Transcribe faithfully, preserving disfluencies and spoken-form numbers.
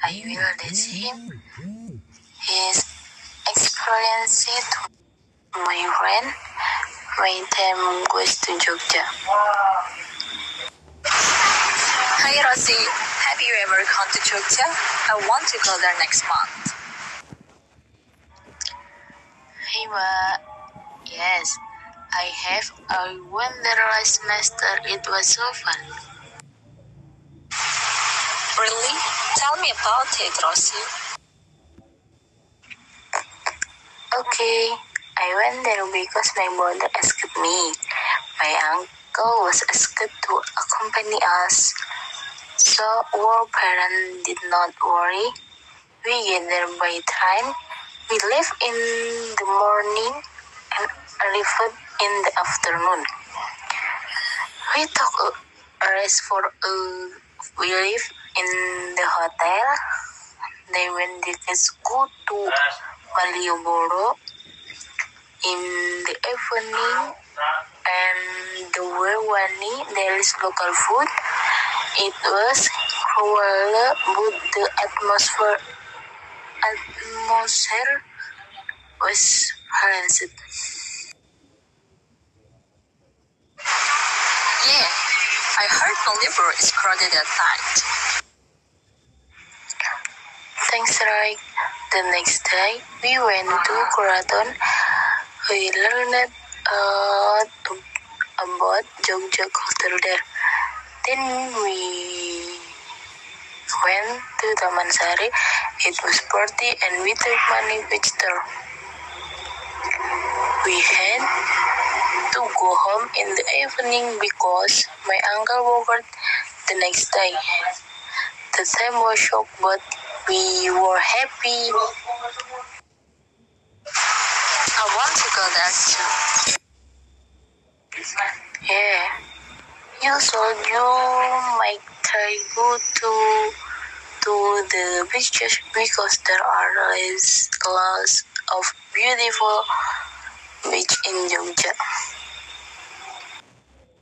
I will teach him his experience to my friend my time goes to Jogja. Hi Rosie, have you ever gone to Jogja? I want to go there next month. Hey Ma, yes, I have. I went there last semester. It was so fun. Really? Tell me about it, Rosie. Okay, I went there because my mother asked me. My uncle was asked to accompany us, so our parents did not worry. We get there by time. We left in the morning and arrived in the afternoon. We took a rest for a we live in the hotel. They went the kids go to Malioboro in the evening, and the Wewani there is local food. It was cruel, but the atmosphere atmosphere was pleasant. Yeah, I heard Malioboro is crowded at night. Thanks, Roy. The next day, we went to Keraton. We learned uh, about Jogja culture there. Then we went to Taman Sari. It was party and we took money picture. We had to go home in the evening because my uncle worked the next day. The time was shocked, but we were happy. I want to go there too. Yeah. You told you might try go to to the beaches because there are lots of beautiful beach in Jogja.